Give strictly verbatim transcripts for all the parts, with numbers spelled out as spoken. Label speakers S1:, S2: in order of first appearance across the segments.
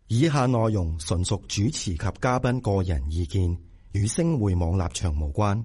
S1: 以下內容純屬主持及嘉賓個人意見，與星匯網立場無關。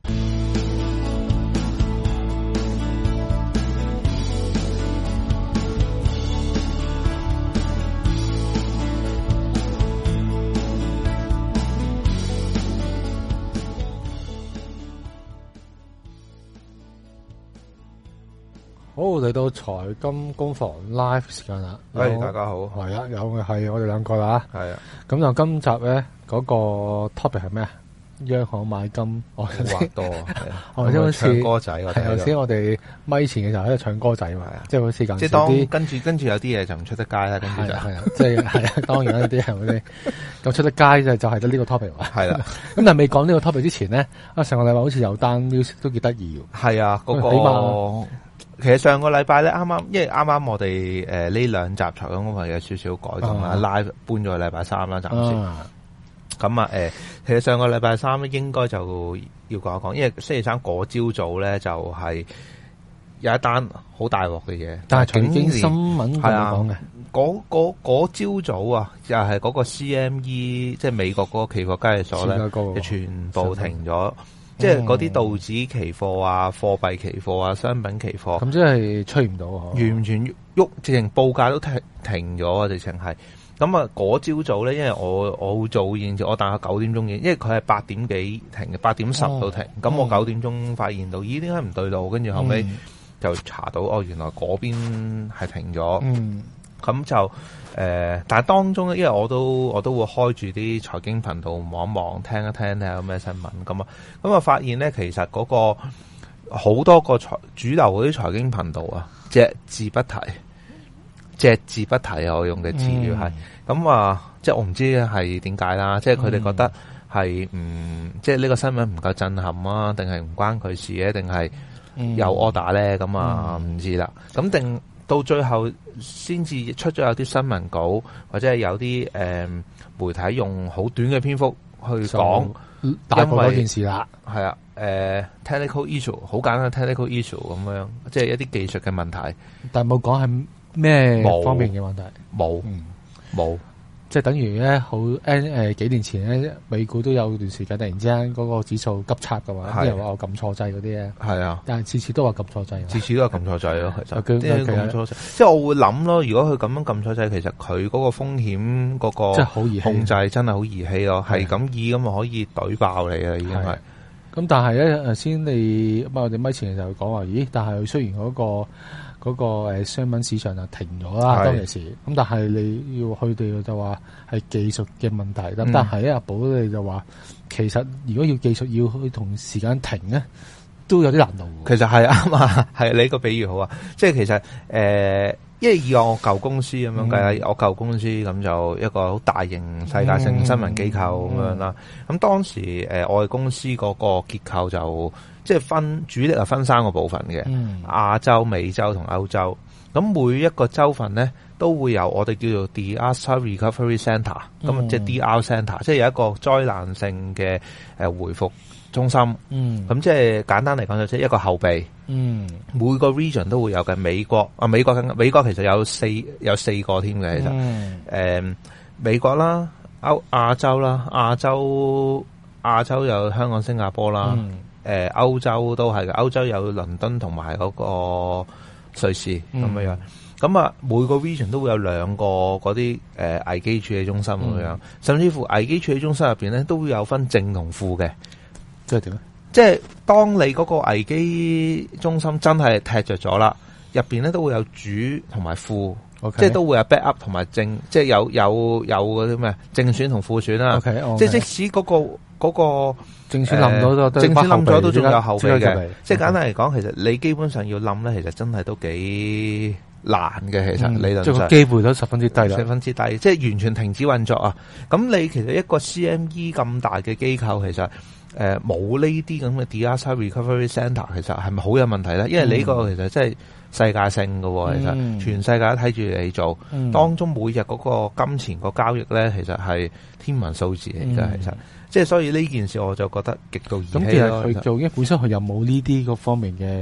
S2: 好，嚟到財金工房 live 時間啦。
S3: 係，大家好。
S2: 係啊，有嘅係我哋兩個啦。
S3: 係啊。咁
S2: 就今集咧嗰個 topic 係咩啊？央行買金，我
S3: 話多啊。
S2: 我先好似
S3: 唱歌仔，我
S2: 頭先我哋咪前嘅時候喺度唱歌仔嘛，即係好似咁。
S3: 即係當跟住跟住有啲嘢就唔出得街啦，跟住就
S2: 係啊，即係係啊，當然有啲係嗰啲咁出得街就就係得呢個 topic 嘛。
S3: 係啦。咁
S2: 但係未講呢個 topic 之前咧，啊上個禮拜好似有單 news 都幾得意喎。
S3: 係啊，嗰個。起碼其實上個禮拜咧，啱啱，因為啱啱我哋誒呢兩集財金工房有少少改動啦，live搬咗去禮拜三啦，暫時。咁啊，誒，其實上個禮拜三咧，應該就要講一講，因為星期三嗰朝早咧就係有一單好大鑊嘅嘢，
S2: 但係財經新聞係啊講嘅，
S3: 嗰嗰嗰朝早啊，又係嗰個 C M E， 即係美國嗰個期貨交易所咧，就全部停咗。即係嗰啲道指期貨啊、貨幣期貨啊、商品期貨，
S2: 咁即係吹唔到，
S3: 完全喐，直情報價都停停咗啊！直情係咁啊！嗰朝早咧，因為我我好早現我大概九點鐘嘅，因為佢係八點幾停嘅，八點十到停。咁、哦、我九點鐘發現到，咦？點解唔對路？跟住後尾就查到，哦，原來嗰邊係停咗。嗯，咁就。誒、呃，但係當中咧，因為我都我都會開住啲財經頻道望一望，聽一聽睇下有咩新聞咁啊，咁啊發現咧，其實嗰個好多個財主流嗰啲財經頻道啊，隻字不提，隻字不提啊，我用嘅詞語係咁啊，即係我唔知係點解啦，即係佢哋覺得係唔即係呢個新聞唔夠震撼啊，定係唔關佢事咧，定係有 order 咧，咁啊唔知啦，咁定。到最後先至出咗有啲新聞稿，或者係有啲誒、呃、媒體用好短嘅篇幅去講，
S2: 大過嗰件事啦。係
S3: 啊，誒、呃、technical issue 好簡單 technical issue 咁樣，即係一啲技術嘅問題。但係冇講係咩方面嘅問題，冇冇。嗯即係等於咧，好誒誒幾年前咧，美股都有段時間突然之間嗰個指數急插嘅話，啲人話我撳錯掣嗰啲咧，係啊，但係次次都話撳錯掣，次次都係撳錯掣咯，其實即係撳錯掣。即係我會諗咯，如果佢咁樣撳錯掣，其實佢嗰個風險嗰個即係好易控制，真係好兒戲咯，係咁易咁啊可以懟爆你啊，已經係。咁但係咧，頭先你咁我哋咪前就講話，咦？但係雖然嗰個。嗰、那個誒商品市場就停咗啦，當其時咁，但係你要佢哋就話係技術嘅問題。咁、嗯、但係咧，阿寶你就話其實如果要技術要去同時間停咧，都有啲難度。其實係啱啊，係你個比喻好啊，即係其實誒、呃，因為以我舊公司咁樣計啦、嗯，我舊公司咁就一個好大型世界性新聞機構咁樣啦。咁、嗯嗯、當時誒、呃、我哋公司嗰個結構就。即係分主力係分三個部分嘅，亞、嗯、洲、美洲同歐洲。咁每一個州份咧都會有我哋叫做 Disaster Recovery Centre，咁、嗯、即係 D R Centre，即係有一個災難性嘅誒回復中心。咁、嗯、即係簡單嚟講就即係一個後備。嗯，每個 region 都會有嘅。美國啊，美國美國其實有四有四個添嘅，其實誒、嗯呃、美國啦、歐亞洲啦、亞洲亞洲有香港、新加坡啦。嗯誒、呃，歐洲都係嘅，歐洲有倫敦同埋嗰個瑞士咁、嗯、樣，咁啊每個 region 都會有兩個嗰啲誒危機處理中心咁樣、嗯，甚至乎危機處理中心入邊咧都會有分正同負嘅，即係點咧？即係當你嗰個危機中心真係踢着咗啦，入邊咧都會有主同埋副。Okay. 即係都會有 backup 同埋正，即係有有有嗰啲咩正選同副選啦。Okay, okay. 即係即使嗰、嗰個嗰、嗰個正選冧咗都正選冧咗都仲有後備嘅。即係簡單嚟講，其實你基本上要冧咧，其實真係都幾難嘅。其實理論上，即係個機會都十分之低啦，十分之低，即係完全停止運作啊！咁你其實一個 C M E 咁大嘅機構，其實誒冇呢啲咁嘅 Disaster Recovery Centre，其實係咪好有問題咧？因為你呢個其實真係。世界性嘅，其實、嗯、全世界都睇住你做、嗯，當中每日嗰個金錢個交易咧，其實係天文數字嚟嘅、嗯，其實即係所以呢件事我就覺得極度兒戲咯。咁其實佢做，因為本身佢又冇呢啲嗰方面嘅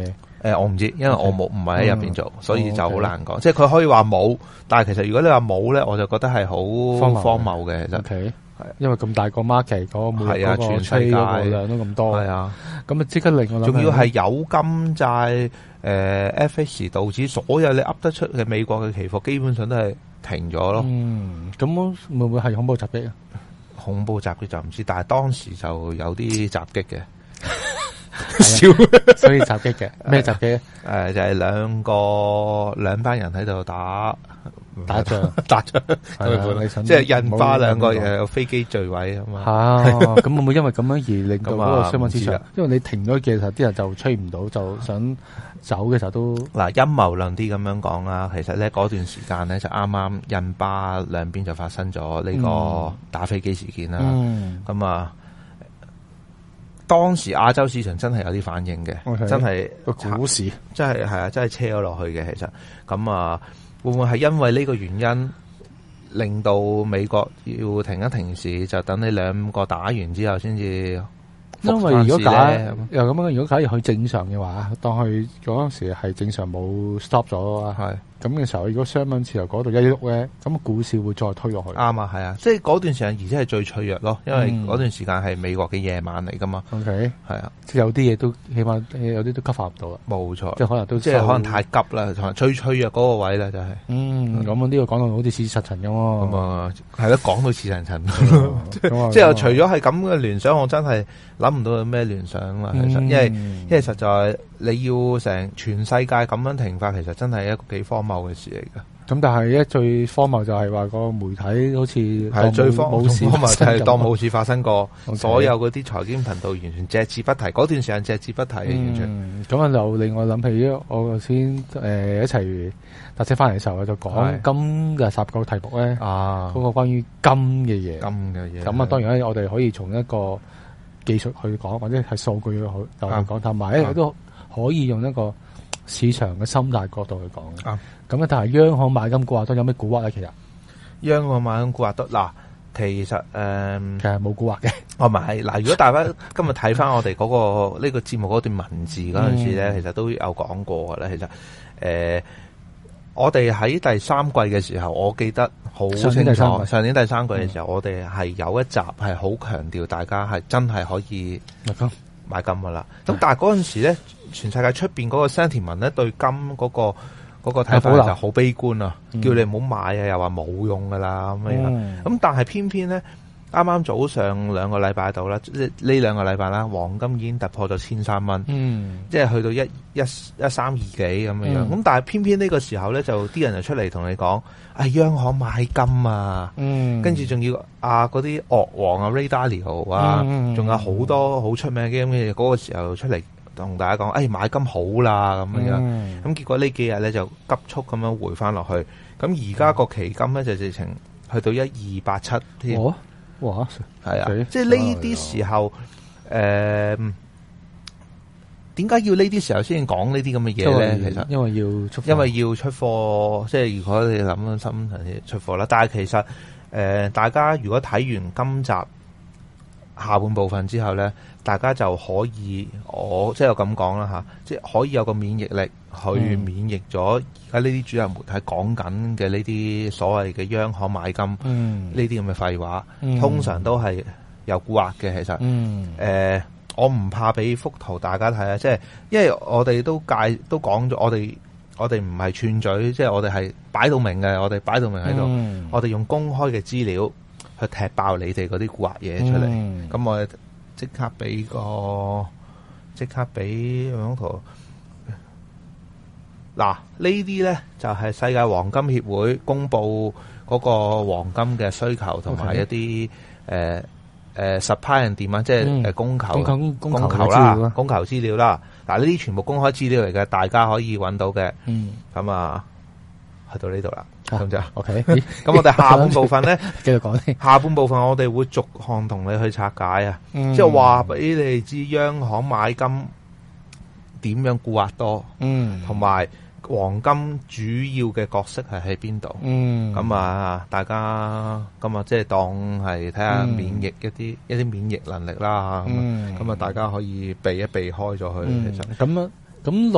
S3: 誒，我唔知，因為我冇唔係喺入邊做，所以就好難講。即係佢可以話冇，但係其實如果你話冇咧，我就覺得係好荒謬嘅。其實係，
S2: 因為咁大個 market 嗰個每嗰個吹嗰個量都咁多，
S3: 係啊，
S2: 咁啊即刻令我諗，
S3: 仲要係有金債誒 F X 道指所有你噏得出嘅美國嘅期貨，基本上都係停咗咯。
S2: 嗯，咁會唔會係恐怖襲擊啊？
S3: 恐怖襲擊就唔知，但係當時就有啲襲擊嘅。
S2: 笑，所以襲擊嘅咩襲擊？
S3: 誒，就係兩個兩班人喺度打
S2: 打仗，
S3: 打仗，即係印巴兩個又有飛機墜毀啊嘛。
S2: 啊，咁會唔會因為咁樣而令到嗰個商品市場？因為你停咗嘅時候，啲人就吹唔到，就想走嘅時候都
S3: 嗱陰謀論啲咁樣講啦。其實咧嗰段時間咧就啱啱印巴兩邊就發生咗呢個打飛機事件啦。咁啊。當時亞洲市場真係有啲反應嘅，okay, 真係
S2: 個股市，
S3: 真係係啊，真係車咗落去嘅。其實咁啊，會唔會係因為呢個原因令到美國要停一停市，就等你兩個打完之後先至？
S2: 因為如果假又咁樣，如果假如佢正常嘅話，當佢嗰陣時係正常冇 stop 咗啊，係咁嘅時候，如果商品市場嗰度一喐咧，咁股市會再推落去。
S3: 啱啊，係啊，即係嗰段時間，而且係最脆弱咯，因為嗰段時間係美國嘅夜晚嚟噶嘛。
S2: O K，係啊，即係有啲嘢都起碼有啲都吸發唔到啦。
S3: 冇錯，
S2: 即係可能都
S3: 即係可能太急啦，同埋最脆弱嗰個位咧就係。
S2: 嗯，咁啊呢個講到好似似實陳咁喎。
S3: 咁啊，係咯，講到似實陳。即係除咗係咁嘅聯想，我真係諗唔到有咩聯想啦。其實，因為因為實在你要成全世界咁樣停發，其實真係一個幾荒謬嘅事嚟噶。
S2: 咁但係咧最荒謬就係話個媒體好似
S3: 係最荒冇事，就係當冇事發生過。
S2: Okay.
S3: 所有嗰啲財經頻道完全隻字不提，嗰段時間隻字不提，嗯、完全。
S2: 咁啊，就令我諗起我頭先誒一齊搭車翻嚟嘅時候，就講金嘅十個題目咧。啊，嗰個關於金嘅嘢，
S3: 金嘅嘢。
S2: 咁啊，當然咧，我哋可以從一個技術去講，或者係數據去就去講，同埋咧都可以用一個市場嘅心態角度去講嘅。啊，咁啊，但係央行買金估價都有咩蠱惑咧？其實
S3: 央行買金估價都嗱，其實誒，嗯、
S2: 其實冇蠱惑嘅。
S3: 哦，唔係嗱，如果大家今日睇翻我哋嗰、那個呢、這個節目嗰段文字嗰陣時咧，嗯、其實都有講過嘅咧。其實誒、呃，我哋喺第三季嘅時候，我記得好清楚。上年第三季嘅時候，嗯、我哋係有一集係好強調大家係真係可以買金買金噶啦。咁、嗯、但係嗰陣時咧，全世界出邊嗰個 sentiment 咧對金嗰、那個。嗰個睇法就好悲觀啊，嗯、叫你唔好買啊，又話冇用噶啦咁樣。咁、嗯、但係偏偏咧，啱啱早上兩個禮拜度啦，即係呢兩個禮拜啦，黃金已經突破咗千三蚊，即係去到一一一三二幾咁樣樣。咁、嗯、但係偏偏呢個時候咧，就啲人就出嚟同你講，啊央行買金啊，跟住仲要啊嗰啲鱷王啊 Ray Dalio 啊，仲、嗯、有好多好出名嘅咁嘅嘢，嗰個時候出嚟。同大家講，誒、哎、買金好啦咁樣，咁、嗯、結果呢幾日咧就急速咁樣回翻落去，咁而家個期金咧就直情去到一二八七添，
S2: 哇，哇，
S3: 係啊，即係呢啲時候，誒點解要呢啲時候先講呢啲咁嘅嘢咧？其實
S2: 因為要出，
S3: 因為要出貨，即係如果你諗深層啲出貨啦。但係其實誒、呃，大家如果睇完今集下半部分之後咧，大家就可以，我即係我咁講啦吓，即係可以有個免疫力去免疫咗而家呢啲主流媒體講緊嘅呢啲所謂嘅央行買金呢啲咁嘅廢話，嗯、通常都係有蠱惑嘅。其實，誒、嗯呃，我唔怕俾幅圖大家睇啊，即係因為我哋都介都講咗，我哋我哋唔係串嘴，即係我哋係擺到明嘅，我哋擺到明喺度，嗯、我哋用公開嘅資料去踢爆你哋嗰啲蠱惑嘢出嚟，咁、嗯、我哋即刻俾個，即刻俾張圖。嗱，呢啲咧就係、是、世界黃金協會公布嗰個黃金嘅需求同埋一啲誒誒 supply and demand，即係誒供求、嗯、供求啦，供求資料啦。嗱，呢啲全部公開資料嚟嘅，大家可以揾到嘅。嗯，咁啊，去到呢度啦。咁就 OK，咁我哋下半部分咧，繼續講。下半部分我哋會逐項同你去拆解啊，嗯、即係話俾你知央行買金點樣蠱惑多，嗯，同埋黃金主要嘅角色係喺邊度，嗯，咁啊，大家咁啊，即係當係睇下免疫一啲、嗯、一啲免疫能力啦，咁啊、嗯，大家可以避一避開咗佢。嗯、其實咁啊，咁六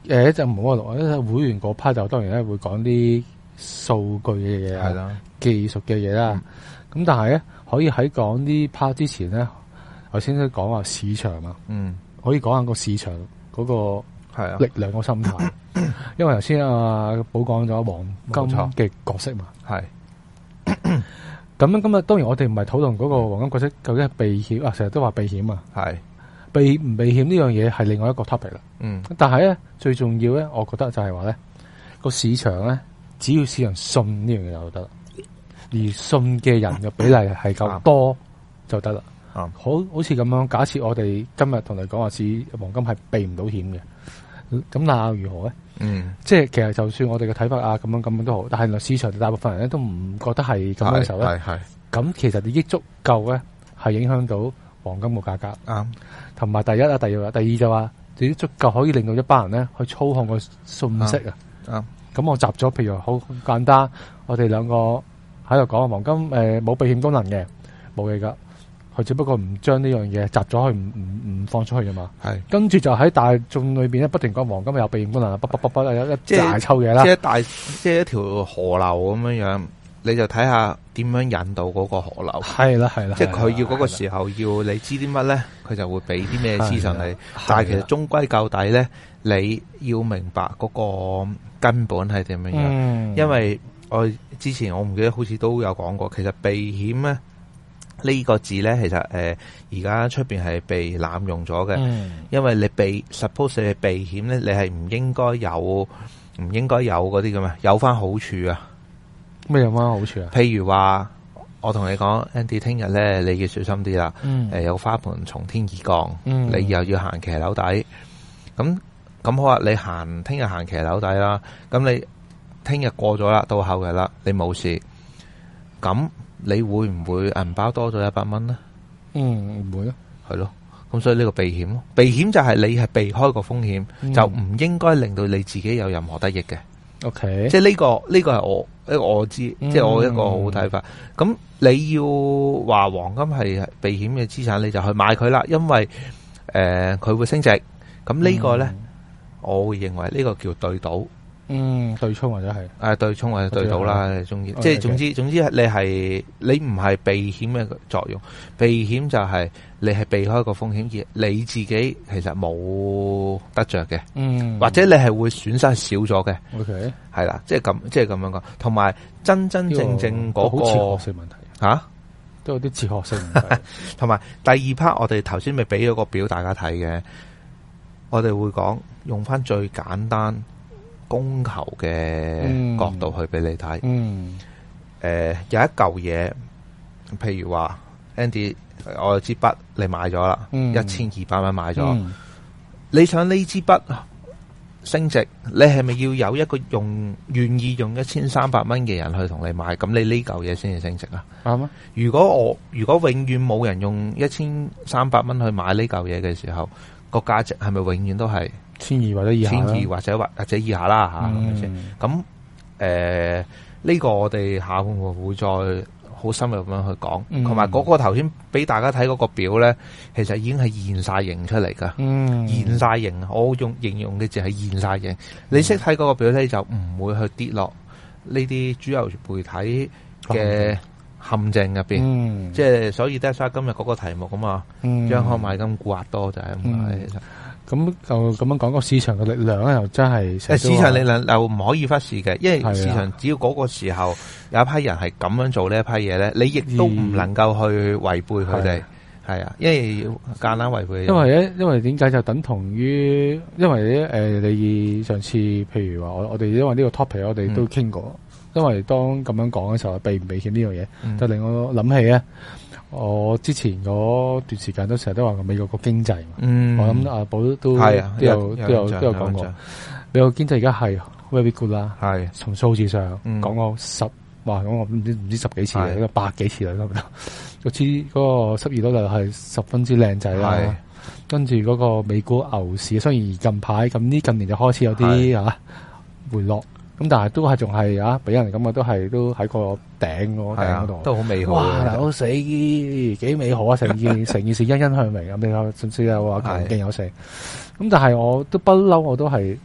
S2: 誒就唔好話錄，會員嗰 part 就當然咧會講啲數據嘅嘢係啦，技術嘅嘢啦。咁、嗯、但係咧可以喺講啲 part 之前咧，頭先都講話市場啊，嗯，可以講下個市場嗰個力量個心態，因為頭先阿寶講咗黃金嘅角色嘛，係。咁樣咁啊，當然我哋唔係討論嗰個黃金角色究竟係避險啊，成日都話避險啊，係避唔避險呢樣嘢係另外一個 topic 啦。嗯，但係咧最重要咧，我覺得就係話咧個市場咧，只要市場信呢樣嘢就得啦，而信嘅人嘅比例係夠多就得啦。啊、嗯，好好似咁樣，假設我哋今日同你講話市黃金係避唔到險嘅，咁那又如何咧？嗯，即係其實就算我哋嘅睇法啊，咁樣咁樣都好，但係市場大部分人咧都唔覺得係咁樣嘅時候咧，係係，咁其實你益足夠咧，係影響到黃金嘅價格。啱，同埋第一啊，第二啊，第二就話你啲足夠可以令到一班人咧去操控個信息啊。啱，咁我集咗，譬如好簡單，我哋兩個喺度講黃金誒冇、呃、避險功能嘅，冇嘢噶。佢只不過唔將呢樣嘢集咗去，唔唔唔放出去啫嘛。係，跟住就喺大眾裏邊咧，不停講黃金有避險功能，不不不不有一大抽嘢啦。即係大，即係一條河流咁樣樣，你就睇下點樣引導嗰個河流。係啦係啦，即係佢要嗰個時候要你知啲乜咧，佢就會俾啲咩資訊你。但係其實終歸究底咧，你要明白嗰個根本係點樣樣。嗯，因為我之前我唔記得好似都有講過，其實避險咧。呢、這個字咧，其實誒而家出邊係被濫用咗嘅、嗯，因為你避 suppose 你避險咧，你係唔應該有唔應該有嗰啲咁啊，有翻好處啊。咩有翻好處啊？譬如話，我同你講 Andy 聽日咧，你要小心啲啦。誒、嗯呃、有花盆從天而降，嗯、你又要行騎樓底。咁咁好啊！你行聽日行騎樓底啦，咁你聽日過咗啦，到後日啦，你冇事。咁你會唔會銀包多咗一百蚊咧？嗯，唔會咯，係咯。咁所以呢個避險咯，避險就係你係避開個風險、嗯，就唔應該令到你自己有任何得益嘅。OK，即係呢個呢、這個係我一個我知，嗯、即係我一個好睇法。咁你要話黃金係避險嘅資產，你就去買佢啦，因為誒佢、呃、會升值。咁呢個咧、嗯，我會認為呢個叫對賭。嗯，對沖或者係誒、啊、對沖或者對賭啦，你中意，即係總之總之你係你唔係避險嘅作用，避險就係你係避開個風險，而你自己其實冇得着嘅，嗯，或者你係會損失少咗嘅，OK，係啦，即係咁即係咁樣講，同埋真真正正嗰、那個好哲學性問題吓、啊，都有啲哲學性問題，同埋第二 part 我哋頭先咪俾咗個表大家睇嘅，我哋會講用翻最簡單。供求嘅角度去俾你睇，誒、嗯呃、有一嚿嘢，譬如話 Andy， 我有支筆你買咗啦，一千二百蚊買咗、嗯，你想呢支筆升值，你係咪要有一個用願意用一千三百蚊嘅人去同你買？咁你呢嚿嘢先至升值啊？啱啊！如果我如果永遠冇人用一千三百蚊去買呢嚿嘢嘅時候，個價值係咪永遠都係？千二或者以下，千二或者或或者以下啦吓，係咪先？咁誒呢個我哋下會唔會再好深入咁樣去講？同埋嗰個頭先俾大家睇嗰個表咧，其實已經係現晒形出嚟噶、嗯，現晒形。我用形容嘅字係現晒形。你識睇嗰個表咧，就唔會去跌落呢啲主流媒體嘅陷阱入邊。即、嗯、係、就是、所以得晒今日嗰個題目咁嘛，央行買金沽壓多就係咁解。其實。咁就咁樣講，個市場嘅力量咧，又真係誒，市場力量又唔可以忽視嘅，因為市場只要嗰個時候有一批人係咁樣做呢一批嘢咧，你亦都唔能夠去違背佢哋，係啊，因為要夾硬違背。因為咧，因為點解就等同於，因為咧，誒、呃，你上次譬如話我我哋因為呢個 topic 我哋都傾過、嗯，因為當咁樣講嘅時候，避唔避險呢樣嘢，嗯、就令我諗起咧。我之前嗰段時間都成日都話美國個經濟，嗯，我諗阿寶都都有都有都有都有講過，美國經濟而家係 very good 啦，係從數字上講過十，哇，講過唔知唔知十幾次嚟，個百幾次嚟咁樣，我知嗰個失業率就係十分之靚仔啦，跟住嗰個美股牛市，雖然近排咁呢近年就開始有啲啊回落。咁但係都係仲係啊，俾人咁啊，都係都喺個頂嗰頂嗰度，都好美好。哇！好死幾美好啊！成件成件事欣欣向榮咁，你甚至有話強勁有成。咁但係我都不嬲，我都係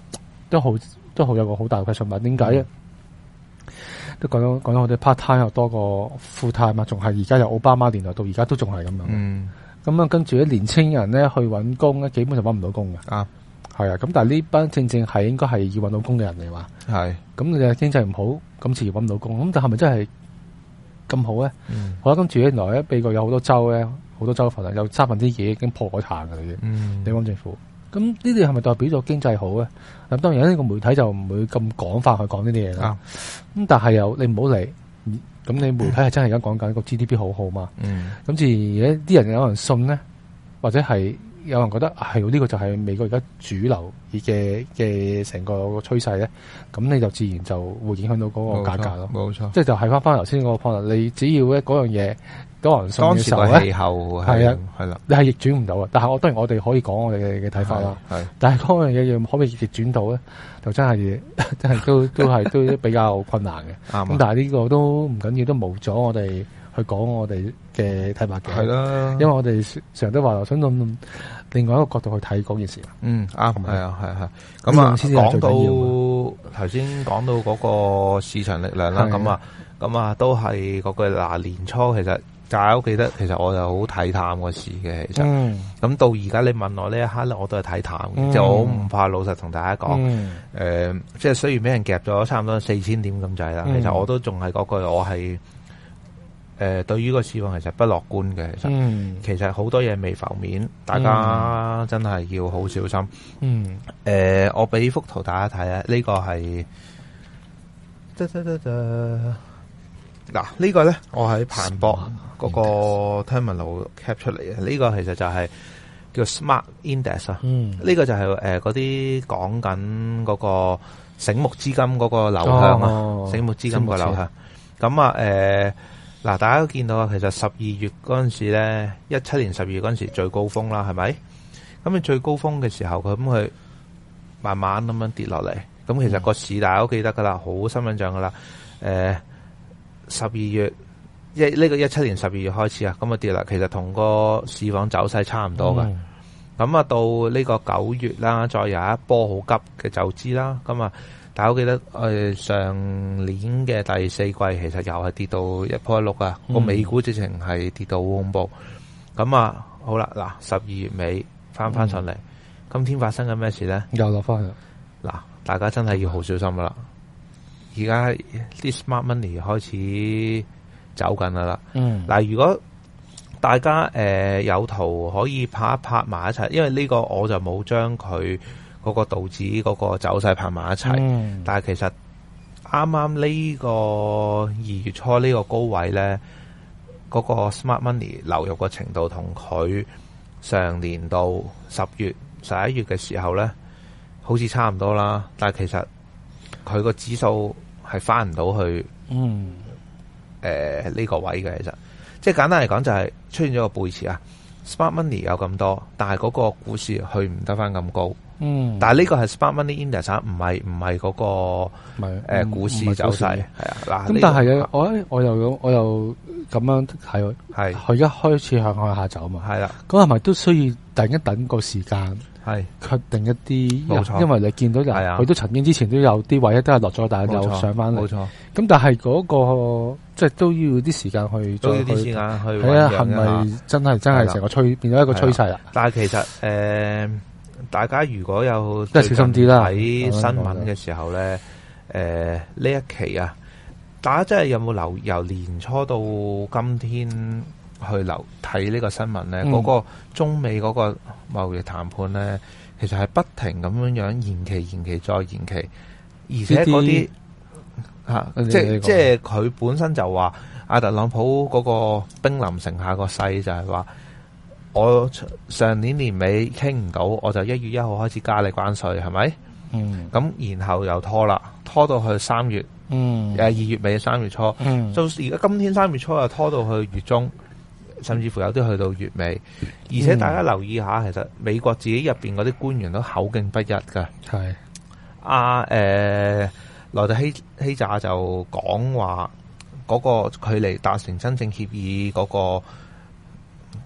S2: 都好都好有個好大嘅 question mark。點解咧？都講咗講咗，我哋 part time 又多過 full time 嘛，仲係而家由奧巴馬年代到而家都仲係咁樣。嗯，咁啊，跟住啲年青人咧去揾工咧，基本上揾唔到工嘅。啊，係啊，咁但係呢班正正係應該係要揾到工嘅人嚟嘛。係，咁你嘅經濟唔好，咁自然揾唔到工。咁但係咪真係咁好咧？嗯，好啦，跟住原來咧，美國有好多州咧，好多州份啊，有三分之二已經破咗產嘅啦，已經。嗯，地方政府。咁呢啲係咪代表咗經濟好咧？咁當然呢個媒體就唔會咁廣泛去講呢啲嘢啦。咁、啊、但係又你唔好理，咁你媒體係真係而家講緊個 G D P 好好嘛？嗯。咁自然啲人有人信咧，或者係有人覺得係呢、呢個就係美國而家主流嘅嘅成個趨勢咧，咁你就自然就會影響到嗰個價格咯。冇錯。即係就係翻翻頭先嗰個 point，你只要咧嗰樣嘢。多人信嘅時候咧，當時個氣候係啊，係啦，你係逆轉唔到啊。但係我當然我哋可以講我哋嘅嘅睇法啦。係，但係嗰樣嘢要可唔可以逆轉到咧，就真係真係都都係都比較困難嘅。啱。咁但係呢個都唔緊要，都冇咗我哋去講我哋嘅睇法嘅。係啦，因為我哋成日都話想用另外一個角度去睇嗰件事。嗯，啱。係啊，係係。咁啊，講到頭先講到嗰個市場力量啦，咁啊，咁啊，都係嗰句嗱，年初其實。大家記得，其實我就好睇淡個市嘅，其實。咁、嗯、到而家你問我呢一刻咧，我都係睇淡嘅，嗯、就我唔怕老實同大家講。誒、嗯呃，即係雖然俾人夾咗差唔多四千點咁滯啦，嗯、其實我都仲係嗰句，我係誒、呃、對於個市況其實不樂觀嘅。其實，嗯、其實好多嘢未浮面，大家真係要好小心。嗯。誒、呃，我俾幅圖大家睇啊，呢、這個係。噠噠噠噠嗱，呢個咧，我喺彭博嗰個 terminal cap 出嚟嘅，呢個其實就係叫 Smart Index 啊。嗯，呢個就係誒嗰啲講緊嗰個醒目資金嗰個流向啊，哦、醒目資金個流向。咁啊，誒，嗱、呃，大家都見到啊，其實十二月嗰陣時咧，一七年十二月嗰陣時最高峰啦，係咪？咁你最高峰嘅時候，佢咁佢慢慢咁樣跌落嚟。咁其實個市大家都記得噶啦，好深印象噶啦，誒、呃。十二月一呢、這個一七年十二月開始啊，咁啊跌啦，其實同個市況走勢差唔多嘅。咁啊、嗯、到呢個九月啦，再有一波好急嘅走資啦。咁啊，大家都記得誒、呃、上年嘅第四季其實又係跌到一波一碌啊，個、嗯、美股直情係跌到好恐怖。咁啊好啦，嗱十二月尾翻翻上嚟，嗯、今天發生緊咩事咧？又落翻去。嗱，大家真係要好小心噶啦。而家啲 smart money 開始走緊啦，嗯，嗱，如果大家誒、呃、有圖可以拍一拍埋一齊，因為呢個我就冇將佢嗰個道指嗰個走勢拍埋一齊，嗯、但係其實啱啱呢個二月初呢個高位咧，嗰、嗰個 smart money 流入嘅程度同佢上年度十月十一月嘅時候咧，好似差唔多啦，但係其實佢個指數係翻唔到去，嗯，誒呢、呃這個位嘅，其實即係簡單嚟講就係出現咗個背馳啊。Smart money 有咁多，但係嗰個股市去唔得翻咁高，嗯，但係呢個係 Smart money index，唔係唔係嗰個誒、呃、股市走勢，係啊，嗱，咁但係啊，我我又我又咁樣睇，係佢一開始向向下走嘛，係啦，咁係咪都需要等一等個時間？係確定一啲，冇錯，因為你見到就係佢都曾經之前都有啲位都係落咗，但係又上翻嚟，冇錯。咁但係嗰個即係都要啲時間去，都要啲時間去睇下係咪真係真係成個趨變咗一個趨勢啦。但係其實誒，大家如果有即係小心啲啦，睇新聞嘅時候咧，誒呢一期啊，大家真係有冇留由年初到今天？去留睇呢個新聞咧，嗰、嗯、個中美嗰個貿易談判咧，其實係不停咁樣樣延期、延期再延期，而且嗰啲嚇，即係即係佢本身就話，阿特朗普嗰個兵臨城下個勢就係話，我上年年尾傾唔到，我就一月一號開始加你關稅，係咪？嗯，咁然後又拖啦，拖到去三月，嗯，誒二月尾三月初，嗯，到而家今天三月初又拖到去月中。甚至乎有啲去到月尾，而且大家留意下，其實美國自己入邊嗰啲官員都口徑不一㗎。係阿誒萊特希希扎就講話嗰個距離達成真正協議嗰個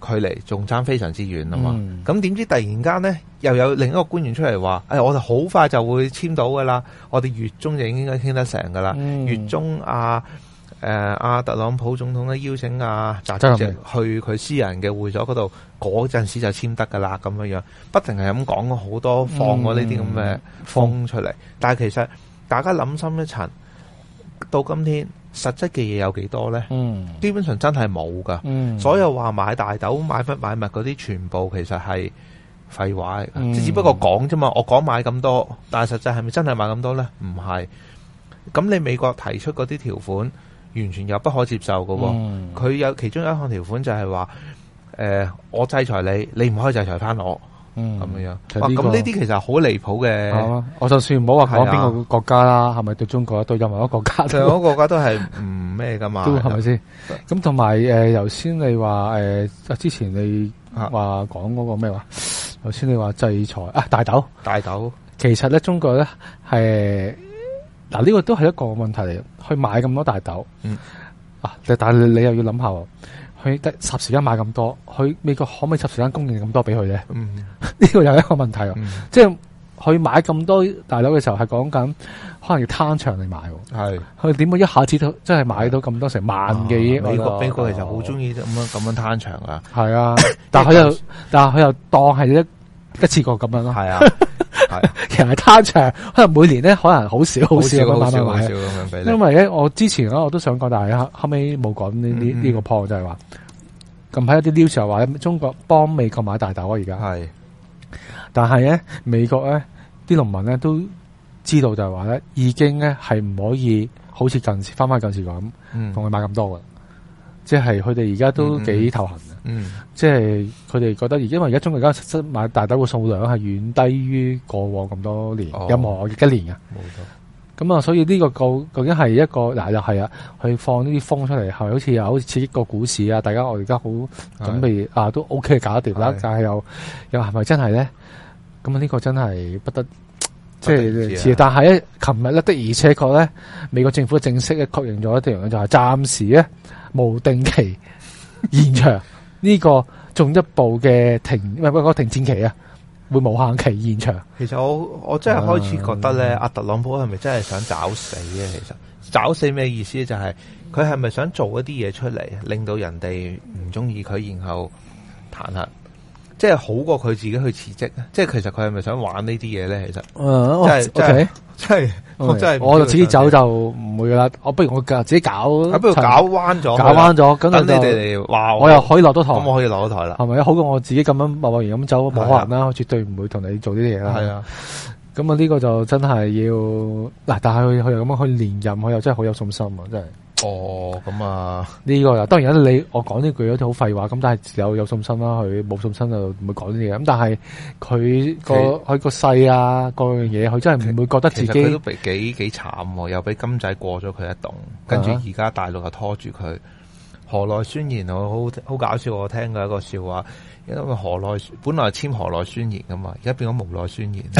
S3: 距離仲爭非常之遠啊嘛。咁、嗯、點知突然間咧，又有另一個官員出嚟話，誒、哎，我哋好快就會簽到噶啦，我哋月中就應該傾得成噶啦。嗯、月中啊，誒、呃，阿特朗普總統咧邀請阿習主席去佢私人嘅會所嗰度，嗰陣時就簽得噶啦，咁樣樣，不停係咁講好多，放過呢啲咁嘅風出嚟。嗯、但係其實大家諗深一層，到今天。實質嘅嘢有幾多咧？嗯，基本上真係冇噶。嗯，所有話買大豆、買乜買物嗰啲，全部其實係廢話嚟噶。嗯、只不過講啫嘛。我講買咁多，但係實際係咪真係買咁多咧？唔係。咁你美國提出嗰啲條款，完全有不可接受噶。佢、嗯、有其中有一項條款就係話，誒、呃，我制裁你，你唔可以制裁翻我。嗯，咁樣樣，哇！咁呢啲其實好離譜嘅。我就算唔好話講邊個國家啦，係咪、啊、對中國對任何一個國家？任何一個國家都係唔咩噶嘛？都係咪先？咁同埋誒，頭先、呃、你話誒、呃，之前你話講嗰個咩話？頭先你話制裁啊，大豆，大豆。其實咧，中國咧係嗱呢個都係一個問題嚟，去買咁多大豆。嗯。啊，但係你又要諗下。佢得霎時間買咁多，佢美國可唔可以霎時間供應咁多俾佢咧？嗯，呢個又係一個問題啊！嗯、即係佢買咁多大豆嘅時候，係講緊可能要攤長嚟買。係佢點會一下子都真係買到咁多成萬幾、啊？美國美國其實好中意咁樣咁樣攤長啊！係啊，但係佢又但係佢又當係一一次過咁樣咯。係啊，係其實係攤長，可能每年咧可能好少好少咁樣買。因為咧，我之前咧我都想講，但係後後尾冇講呢呢呢個 point 就係話。近排有啲 news 又話中國幫美國買大豆啊，而家係，但係咧美國咧啲農民咧都知道就係話咧，已經咧係唔可以好似近時翻翻近時咁，同佢買咁多嘅，即係佢哋而家都幾頭痕嘅，嗯，即係佢哋覺得，因為而家中國而家實質買大豆嘅數量係遠低於過往咁多年，哦、任何一年嘅，冇錯。咁啊，所以呢個究究竟係一個嗱又係啊，去放呢啲風出嚟，係好似又好似刺激個股市啊！大家我而家好準備啊，都 OK 搞得掂啦，但係又又係咪真係咧？咁啊，呢個真係不得即係，但係咧，琴日咧的而且確咧，美國政府正式咧確認咗一樣嘢，就係暫時咧無定期延長呢個進一步嘅停唔係嗰個停戰期啊！會無限期延長。其實我我真係開始覺得咧，阿、嗯、特朗普係咪真係想找死嘅？其實找死咩意思咧？就係佢係咪想做一啲嘢出嚟，令到人哋唔中意佢，然後彈劾，即係好過佢自己去辭職。即係其實佢係咪想玩呢啲嘢咧？其實，嗯，真係真係真係，我真係我就自己走就唔會噶啦。我不如我自己搞，不如搞彎咗，搞彎咗，咁等你哋嚟話我又可以落到台，咁我可以落到台啦，係咪？好過我自己咁樣貿貿然咁走，冇可能啦，我絕對唔會同你做呢啲嘢啦。係啊，咁啊呢個就真係要嗱，但係佢佢又咁樣去連任，佢又真係好有信心啊，真係。哦，咁啊，呢個當然你我講呢句有啲好廢話，咁但係有有信心啦，佢冇信心就唔會講呢啲嘢。咁但係佢個佢個勢啊，各樣嘢，佢真係唔會覺得自己。其實佢都俾幾幾慘，又俾金仔過咗佢一棟，跟住而家大陸又拖住佢。河內宣言我好好搞笑，我聽過一個笑話，因為河內本來簽河內宣言噶嘛，而家變咗無奈宣言。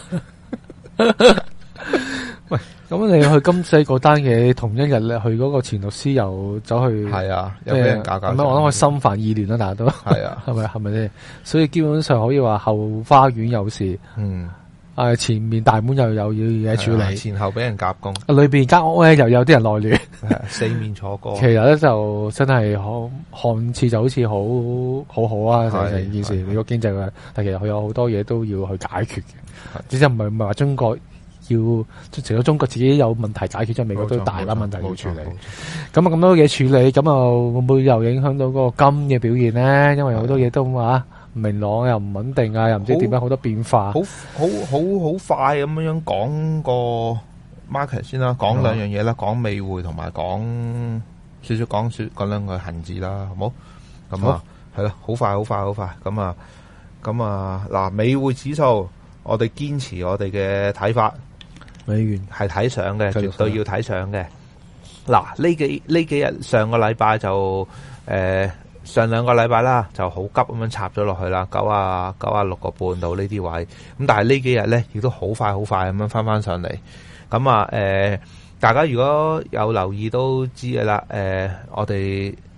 S3: 喂，咁你去金仔嗰單嘢，同一日咧去嗰個前律師又走去，係啊，又俾人搞搞。咁我諗佢心煩意亂啦，大家都係啊，係咪係咪先？所以基本上可以話後花園有事，嗯，誒前面大門又有要嘢處理，啊，前後俾人夾攻，裏邊間屋咧又有啲人內亂，啊，四面楚歌。其實咧就真係好看似就好似好好好啊，成成件事你個經濟嘅，但其實佢有好多嘢都要去解決嘅，只係唔係唔係話中國。要除咗中國自己有問題解決，即係美國都大把問題要處理。咁啊咁多嘢處理，咁啊會唔會又影響到嗰個金嘅表現咧？因為好多嘢都話唔明朗，又唔穩定啊，又唔知點樣好多變化。好好好好快咁樣樣講個 market 先啦，講兩樣嘢啦，講美匯同埋講少少講說講兩個恒指啦，好冇？咁啊係咯，好快好快好快。咁啊咁啊嗱，美匯指數我哋堅持我哋嘅睇法。美元係睇上嘅，絕對要睇上嘅。嗱，呢幾呢幾日上個禮拜就誒、呃、上兩個禮拜啦，就好急咁樣插咗落去啦，九啊九啊六個半到呢啲位。咁但係呢幾日咧，亦都好快好快咁樣翻翻上嚟。咁啊誒，大家如果有留意都知嘅啦。誒、呃，我哋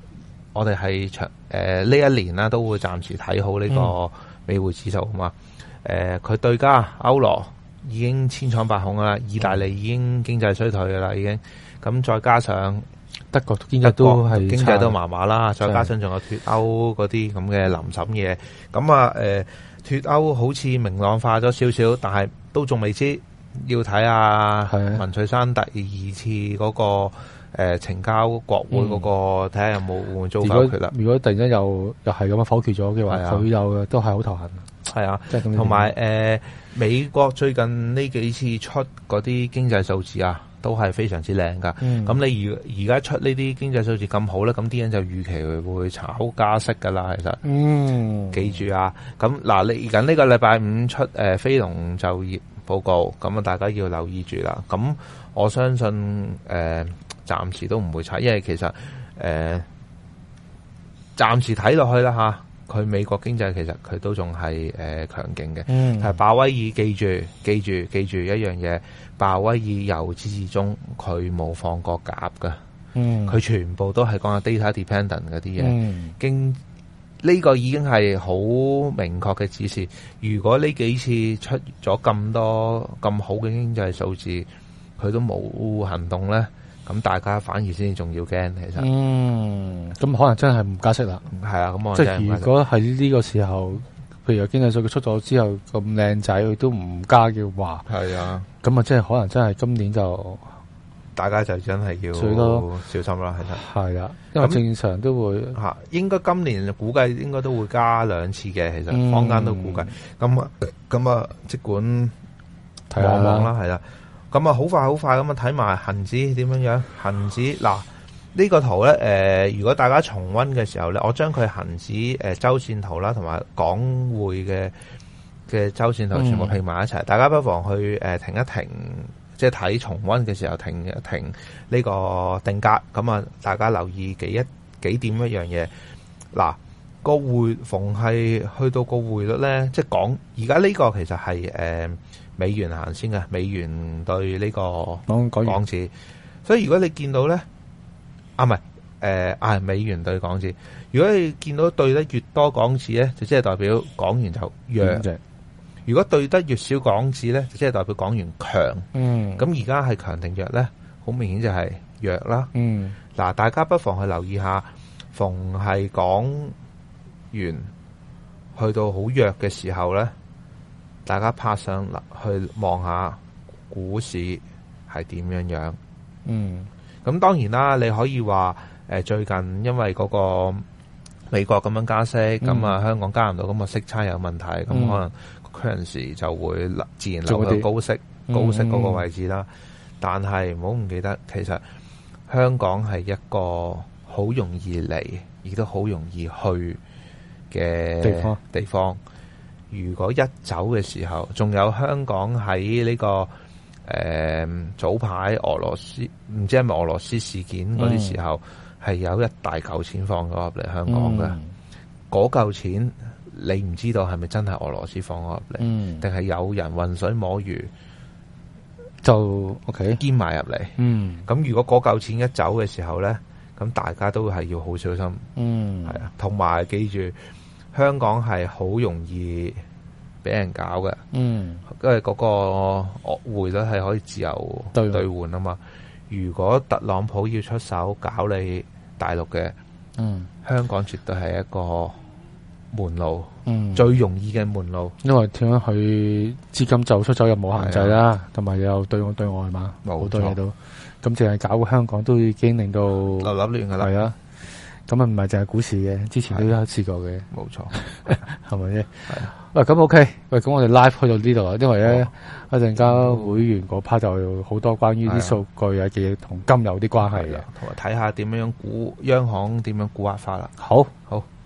S3: 我哋係長誒呢一年啦，都會暫時睇好呢個美匯指數啊嘛。誒、嗯，佢、呃、對家歐羅已經千瘡百孔啦，意大利已經經濟衰退噶啦，已經咁再加上
S2: 德國經濟都係
S3: 經濟都麻麻啦，再加上仲有脫歐嗰啲咁嘅臨審嘢，咁啊誒脫歐好似明朗化咗少少，但係都仲未知，要睇下文翠珊第二次嗰、那個。誒，呈、呃、交國會嗰、那個睇下、嗯、有冇會唔會遭否決啦？
S2: 如果突然間又又係咁樣否決咗嘅話，佢又都係好頭痕。
S3: 係啊，同埋誒，美國最近呢幾次出嗰啲經濟數字啊，都係非常之靚噶。咁、嗯、你而而家出呢啲經濟數字咁好咧，咁啲人就預期會炒加息噶啦。其實，嗯，記住啊，咁嗱，嚟緊呢個禮拜五出誒、呃、非農就業報告，咁啊大家要留意住啦。咁我相信誒。呃暫時都唔會差，因為其實誒，暫、呃、時睇落去啦吓，佢美國經濟其實佢都仲係誒強勁嘅。嗯，係鮑威爾記住記住記住一樣嘢，鮑威爾由始至終佢冇放過鴿噶。嗯，佢全部都係講緊 data dependent 嗰啲嘢。嗯，經呢、這個已經係好明確嘅指示。如果呢幾次出咗咁多咁好嘅經濟數字，佢都冇行動咧。咁大家反而先至仲要驚，其實。嗯，
S2: 咁可能真係唔加息啦。
S3: 係啊，咁我
S2: 即係如果喺呢個時候，譬如經濟數據出咗之後咁靚仔，佢都唔加嘅話，
S3: 係啊，
S2: 咁啊，即係可能真係今年就
S3: 大家就真係要
S2: 最多
S3: 小心啦，其實。係
S2: 啊，因為正常都會
S3: 嚇，應該今年估計應該都會加兩次嘅，其實坊間都估計。咁啊、嗯，咁啊，即管望望啦，係啦。咁啊，好快好快咁啊！睇埋恒指點樣樣？恒指嗱呢、呢個圖咧，誒、呃，如果大家重溫嘅時候咧，我將佢恒指誒周線圖啦，同埋港匯嘅嘅周線圖全部拼埋一齊，嗯、大家不妨去誒、呃、停一停，即係睇重溫嘅時候停一停呢個定格。咁啊，大家留意幾一幾點一樣嘢。嗱，個匯逢係去到個匯率咧，即係港而家呢個其實係誒。呃美元行先嘅，美元對呢個港紙，所以如果你見到咧，啊唔係，誒啊美元對港紙，如果你見到對得越多港紙咧，就即係代表港元就弱；嗯、如果對得越少港紙咧，就即係代表港元強。嗯，咁而家係強定弱咧，好明顯就係弱啦。嗯，嗱，大家不妨去留意下，逢係港元去到好弱嘅時候咧。大家拍上嚟去望下股市係點樣樣，嗯，咁當然啦，你可以話誒、呃、最近因為嗰個美國咁樣加息，咁啊、嗯、香港加唔到，咁啊息差有問題，咁、嗯、可能 currency 就會自然流去高息高息嗰個位置啦。嗯、但係唔好唔記得，其實香港係一個好容易嚟，亦都好容易去嘅地方地方。如果一走嘅時候，仲有香港喺呢、這個誒、呃、早排俄羅斯唔知係咪俄羅斯事件嗰啲時候，係、嗯、有一大嚿錢放咗入嚟香港嘅。嗰嚿、嗯、錢你唔知道係咪真係俄羅斯放咗入嚟，定係、嗯、有人渾水摸魚就 OK 兼埋入嚟。咁、嗯、如果嗰嚿錢一走嘅時候咧，咁大家都係要好小心。嗯，係啊，同埋記住。香港係好容易俾人搞嘅，嗯，因為嗰個匯率係可以自由兌換啊嘛。如果特朗普要出手搞你大陸嘅，嗯，香港絕對係一個門路，嗯，最容易嘅門路。因為點樣去資金就出走又冇限制啦，同埋又對外對外嘛，好多嘢都咁，淨係搞香港都已經令到流流亂噶啦，係啊。咁啊，唔係淨係股市嘅，之前都有試過嘅，冇錯，係咪啫？係啊，喂，咁 OK，喂，咁我哋 live 去到呢度啦，因為咧一陣間會員嗰 part 就有好多關於啲數據啊嘅嘢同金有啲關係嘅，同埋睇下點樣估央行點樣估壓法啦。好，好。